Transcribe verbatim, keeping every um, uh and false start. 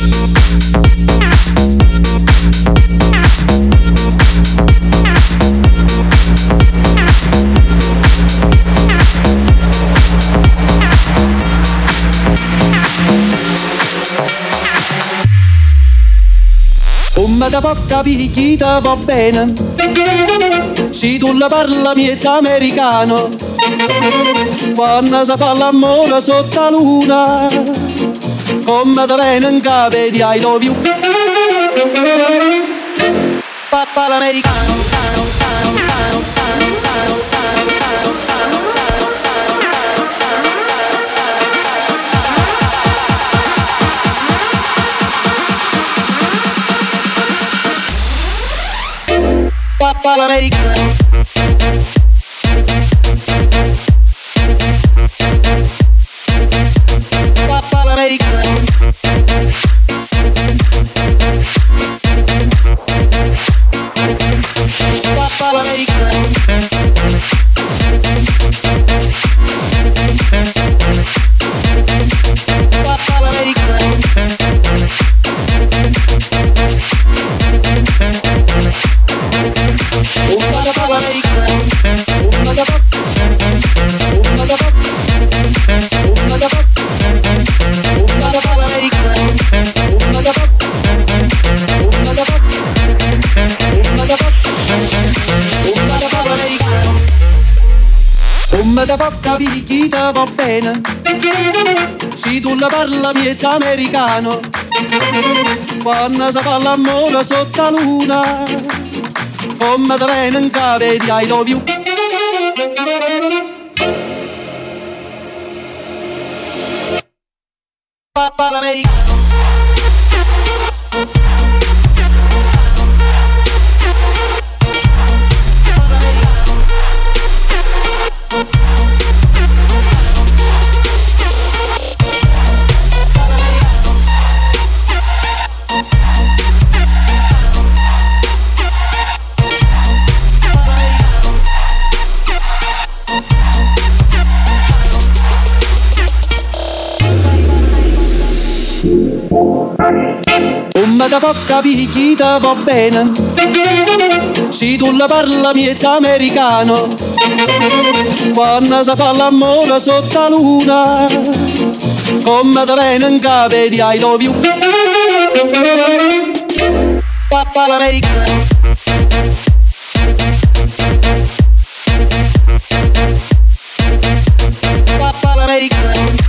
Come da può capire chi te va bene, se tu la parla miezza americano, quando si fa l'amore sotto la luna, come te viene in capo di I love you. Papà l'americano, cano, cano, cano, cano, cano, cano, cano, cano, Papà l'americano. Papà l'americano. Papà l'americano. Papà l'americano. Come te può capire chi te va bene, se tu la parla miezza americano, quando si fa l'amore sotto la luna, come te viene in capo di I love you. Papà l'americano. Come te può capire chi te va bene, se tu la parla miezza americano, quando si fa l'amore sotto la luna, come te viene in capo di I love you. Papà l'americano. Papà l'americano.